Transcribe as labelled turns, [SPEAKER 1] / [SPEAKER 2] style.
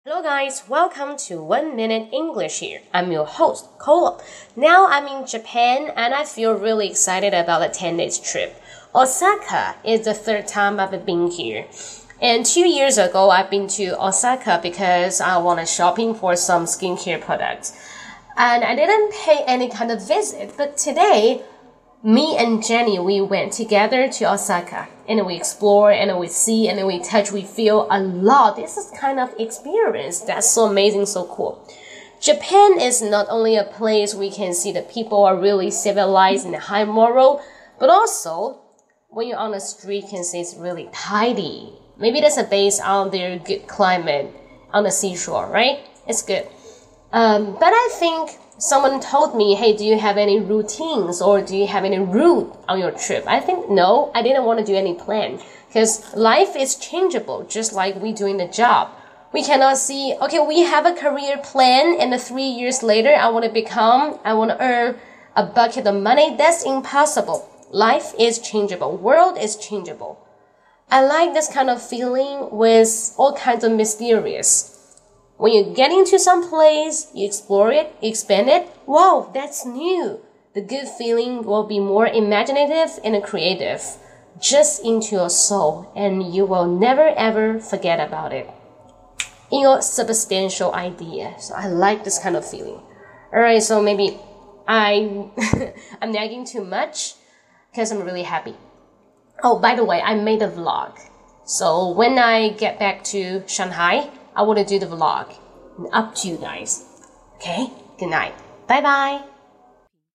[SPEAKER 1] Hello guys, welcome to 1 Minute English here. I'm your host, Kola. Now I'm in Japan and I feel really excited about the 10 days trip. Osaka is the third time I've been here. And 2 years ago, I've been to Osaka because I wanted shopping for some skincare products. And I didn't pay any kind of visit, but today, me and Jenny, we went together to Osaka and we explore and we see and we touch, we feel a lot. This is kind of experience that's so amazing, so cool. Japan is not only a place we can see the people are really civilized and high moral, but also when you're on the street, you can see it's really tidy. Maybe that's based on their good climate on the seashore, right? It's good. But I think someone told me, hey, do you have any routines or do you have any route on your trip? I think no, I didn't want to do any plan because life is changeable, just like we doing the job. We cannot see, okay, we have a career plan and 3 years later I want to earn a bucket of money. That's impossible. Life is changeable. World is changeable. I like this kind of feeling with all kinds of mysterious. When you get into some place, you explore it, expand it, wow, that's new. The good feeling will be more imaginative and creative, just into your soul, and you will never ever forget about it. In your substantial idea. So I like this kind of feeling. Alright, so maybe I'm nagging too much because I'm really happy. Oh, by the way, I made a vlog. So when I get back to Shanghai, I want to do the vlog. Up to you guys. Okay? Good night. Bye bye.